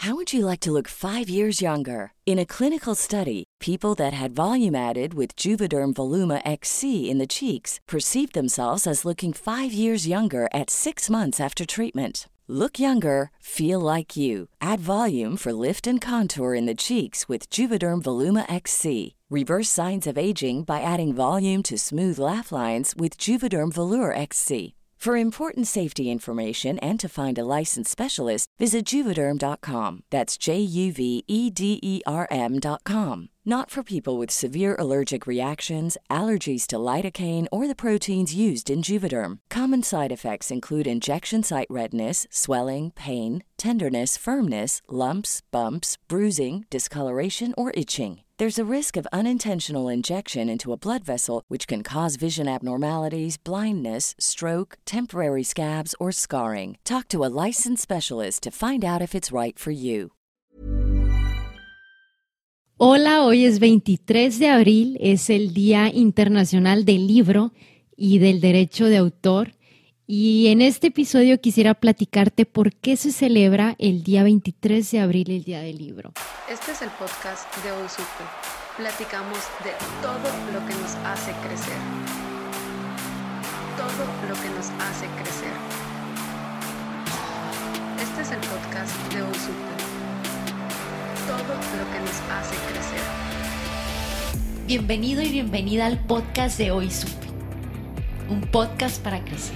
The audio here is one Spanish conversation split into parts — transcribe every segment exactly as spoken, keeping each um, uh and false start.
How would you like to look five years younger? In a clinical study, people that had volume added with Juvederm Voluma X C in the cheeks perceived themselves as looking five years younger at six months after treatment. Look younger, feel like you. Add volume for lift and contour in the cheeks with Juvederm Voluma X C. Reverse signs of aging by adding volume to smooth laugh lines with Juvederm Volure X C. For important safety information and to find a licensed specialist, visit Juvederm dot com. That's J U V E D E R M dot com. Not for people with severe allergic reactions, allergies to lidocaine, or the proteins used in Juvederm. Common side effects include injection site redness, swelling, pain, tenderness, firmness, lumps, bumps, bruising, discoloration, or itching. There's a risk of unintentional injection into a blood vessel, which can cause vision abnormalities, blindness, stroke, temporary scabs, or scarring. Talk to a licensed specialist to find out if it's right for you. Hola, hoy es veintitrés de abril, es el Día Internacional del Libro y del Derecho de Autor. Y en este episodio quisiera platicarte por qué se celebra el día veintitrés de abril, el Día del Libro. Este es el podcast de Hoy Supe. Platicamos de todo lo que nos hace crecer. Todo lo que nos hace crecer. Este es el podcast de Hoy Supe. Todo lo que nos hace crecer. Bienvenido y bienvenida al podcast de Hoy Supe. Un podcast para crecer.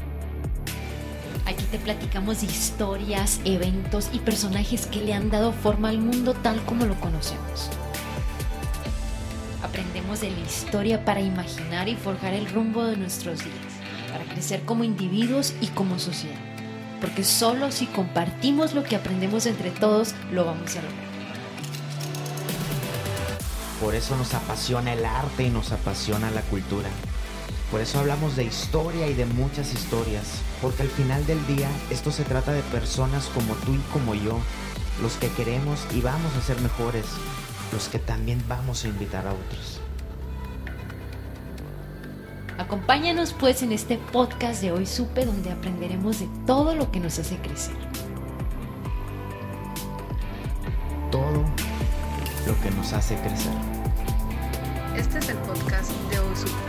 Aquí te platicamos de historias, eventos y personajes que le han dado forma al mundo tal como lo conocemos. Aprendemos de la historia para imaginar y forjar el rumbo de nuestros días, para crecer como individuos y como sociedad. Porque solo si compartimos lo que aprendemos entre todos, lo vamos a lograr. Por eso nos apasiona el arte y nos apasiona la cultura. Por eso hablamos de historia y de muchas historias, porque al final del día esto se trata de personas como tú y como yo, los que queremos y vamos a ser mejores, los que también vamos a invitar a otros. Acompáñanos pues en este podcast de Hoy Supe, donde aprenderemos de todo lo que nos hace crecer. Todo lo que nos hace crecer. Este es el podcast de Hoy Supe.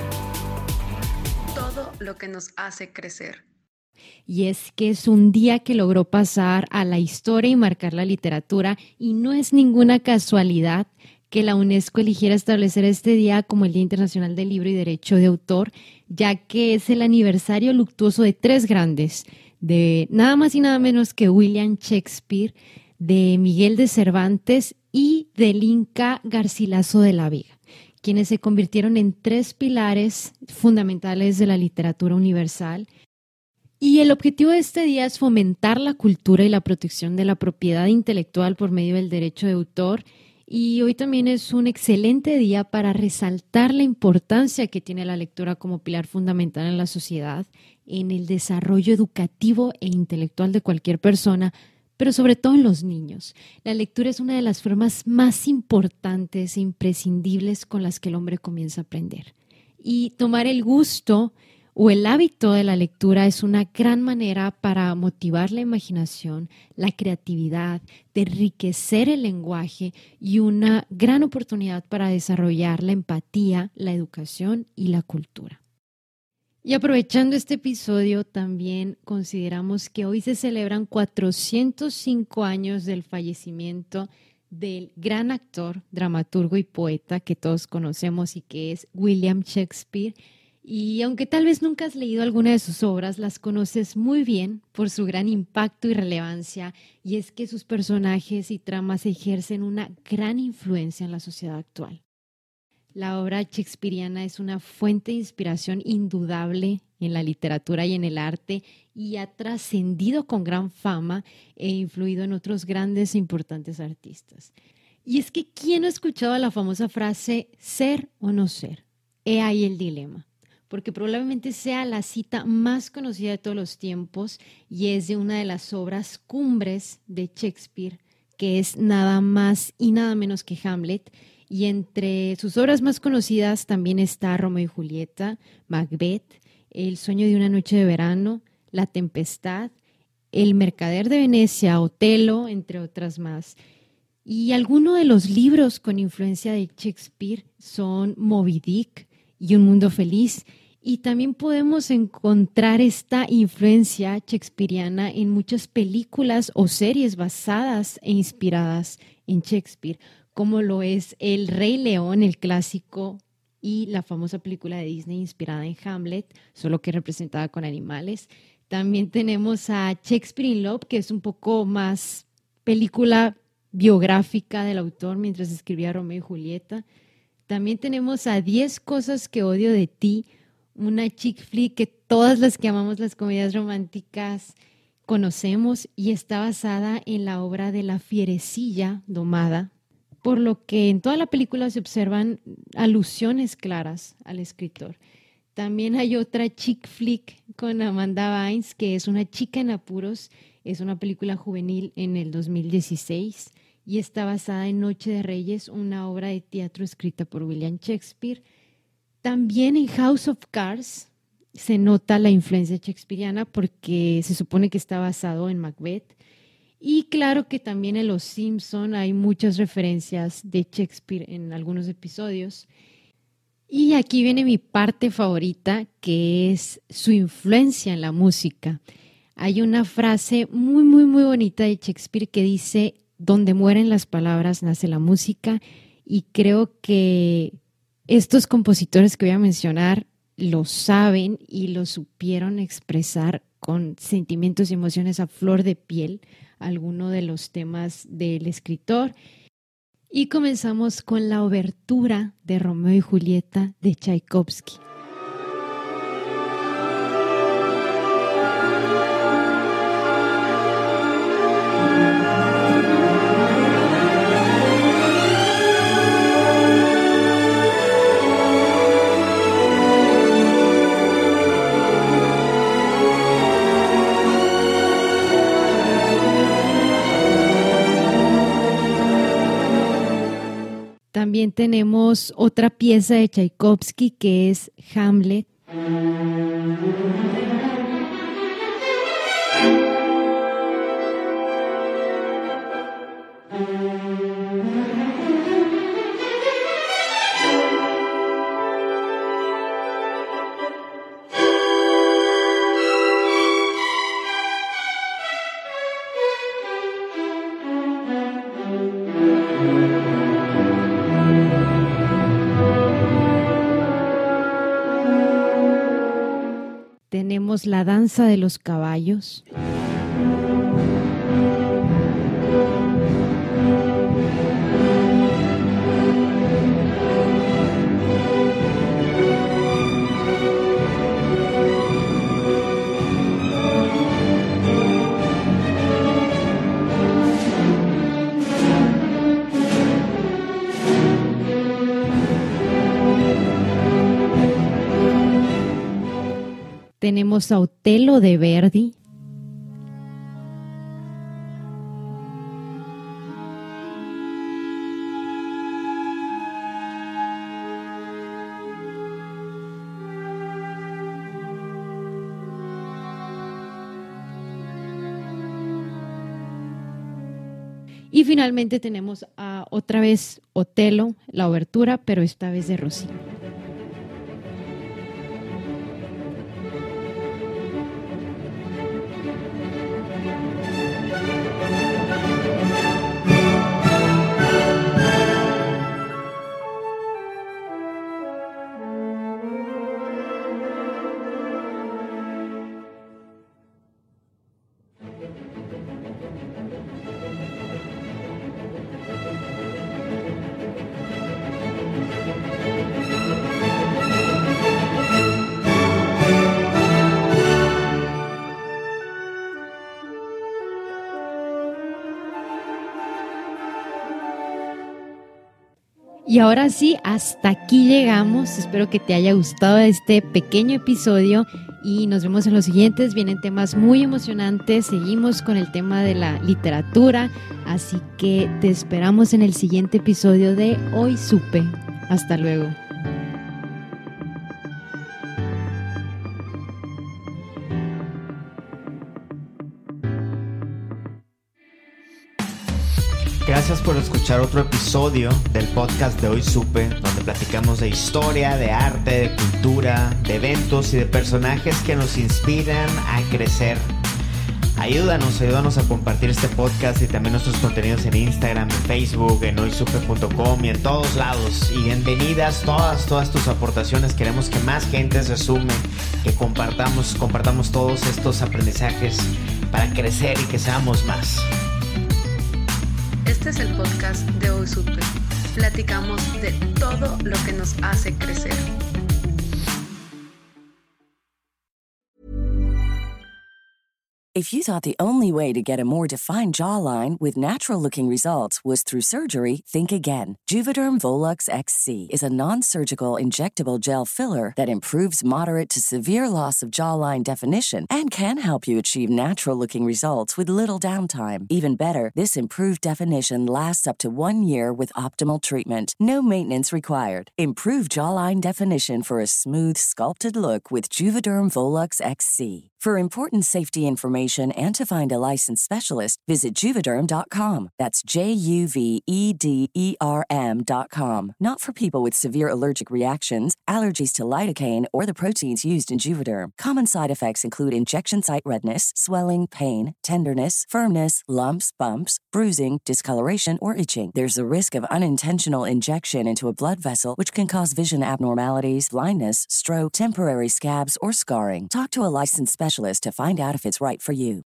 Todo lo que nos hace crecer. Y es que es un día que logró pasar a la historia y marcar la literatura, y no es ninguna casualidad que la UNESCO eligiera establecer este día como el Día Internacional del Libro y Derecho de Autor, ya que es el aniversario luctuoso de tres grandes, de nada más y nada menos que William Shakespeare, de Miguel de Cervantes y del Inca Garcilaso de la Vega, quienes se convirtieron en tres pilares fundamentales de la literatura universal. Y el objetivo de este día es fomentar la cultura y la protección de la propiedad intelectual por medio del derecho de autor. Y hoy también es un excelente día para resaltar la importancia que tiene la lectura como pilar fundamental en la sociedad, en el desarrollo educativo e intelectual de cualquier persona, pero sobre todo en los niños. La lectura es una de las formas más importantes e imprescindibles con las que el hombre comienza a aprender. Y tomar el gusto o el hábito de la lectura es una gran manera para motivar la imaginación, la creatividad, de enriquecer el lenguaje y una gran oportunidad para desarrollar la empatía, la educación y la cultura. Y aprovechando este episodio, también consideramos que hoy se celebran cuatrocientos cinco años del fallecimiento del gran actor, dramaturgo y poeta que todos conocemos y que es William Shakespeare. Y aunque tal vez nunca has leído alguna de sus obras, las conoces muy bien por su gran impacto y relevancia, y es que sus personajes y tramas ejercen una gran influencia en la sociedad actual. La obra shakespeariana es una fuente de inspiración indudable en la literatura y en el arte, y ha trascendido con gran fama e influido en otros grandes e importantes artistas. Y es que, ¿quién no ha escuchado la famosa frase ser o no ser? He ahí el dilema, porque probablemente sea la cita más conocida de todos los tiempos y es de una de las obras cumbres de Shakespeare, que es nada más y nada menos que Hamlet. Y entre sus obras más conocidas también está Romeo y Julieta, Macbeth, El sueño de una noche de verano, La tempestad El mercader de Venecia, Otelo, entre otras más. Y algunos de los libros con influencia de Shakespeare son Moby Dick y Un Mundo Feliz. Y también podemos encontrar esta influencia shakespeariana en muchas películas o series basadas e inspiradas en Shakespeare, como lo es El Rey León, el clásico, y la famosa película de Disney inspirada en Hamlet, solo que representada con animales. También tenemos a Shakespeare in Love, que es un poco más película biográfica del autor mientras escribía Romeo y Julieta. También tenemos a Diez cosas que odio de ti, una chick flick que todas las que amamos las comedias románticas conocemos y está basada en la obra de La fierecilla domada, por lo que en toda la película se observan alusiones claras al escritor. También hay otra chick flick con Amanda Bynes, que es Una chica en apuros, es una película juvenil en el dos mil dieciséis y está basada en Noche de Reyes, una obra de teatro escrita por William Shakespeare. También en House of Cards se nota la influencia shakespeariana porque se supone que está basado en Macbeth. Y claro que también en Los Simpson hay muchas referencias de Shakespeare en algunos episodios. Y aquí viene mi parte favorita, que es su influencia en la música. Hay una frase muy, muy, muy bonita de Shakespeare que dice: donde mueren las palabras nace la música, y creo que estos compositores que voy a mencionar lo saben y lo supieron expresar con sentimientos y emociones a flor de piel, algunos de los temas del escritor. Y comenzamos con la obertura de Romeo y Julieta de Tchaikovsky. También tenemos otra pieza de Tchaikovsky que es Hamlet. Tenemos la danza de los caballos. Tenemos a Otelo de Verdi. Y finalmente tenemos a otra vez Otelo, la obertura, pero esta vez de Rossini. Y ahora sí, hasta aquí llegamos. Espero que te haya gustado este pequeño episodio y nos vemos en los siguientes. Vienen temas muy emocionantes. Seguimos con el tema de la literatura, así que te esperamos en el siguiente episodio de Hoy Supe. Hasta luego. Gracias por escuchar otro episodio del podcast de Hoy Supe, donde platicamos de historia, de arte, de cultura, de eventos y de personajes que nos inspiran a crecer. Ayúdanos, ayúdanos a compartir este podcast y también nuestros contenidos en Instagram, en Facebook, en hoy supe punto com y en todos lados. Y bienvenidas todas, todas tus aportaciones. Queremos que más gente se sume, que compartamos, compartamos todos estos aprendizajes para crecer y que seamos más. Este es el podcast de Hoy Supe. Platicamos de todo lo que nos hace crecer. If you thought the only way to get a more defined jawline with natural-looking results was through surgery, think again. Juvederm Volux X C is a non-surgical injectable gel filler that improves moderate to severe loss of jawline definition and can help you achieve natural-looking results with little downtime. Even better, this improved definition lasts up to one year with optimal treatment. No maintenance required. Improve jawline definition for a smooth, sculpted look with Juvederm Volux X C. For important safety information and to find a licensed specialist, visit Juvederm dot com. That's J U V E D E R M dot com. Not for people with severe allergic reactions, allergies to lidocaine, or the proteins used in Juvederm. Common side effects include injection site redness, swelling, pain, tenderness, firmness, lumps, bumps, bruising, discoloration, or itching. There's a risk of unintentional injection into a blood vessel, which can cause vision abnormalities, blindness, stroke, temporary scabs, or scarring. Talk to a licensed specialist to find out if it's right for you.